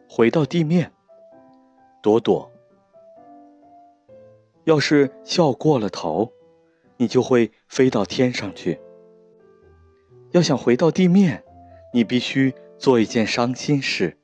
回到地面。朵朵，要是笑过了头，你就会飞到天上去。要想回到地面，你必须做一件伤心事。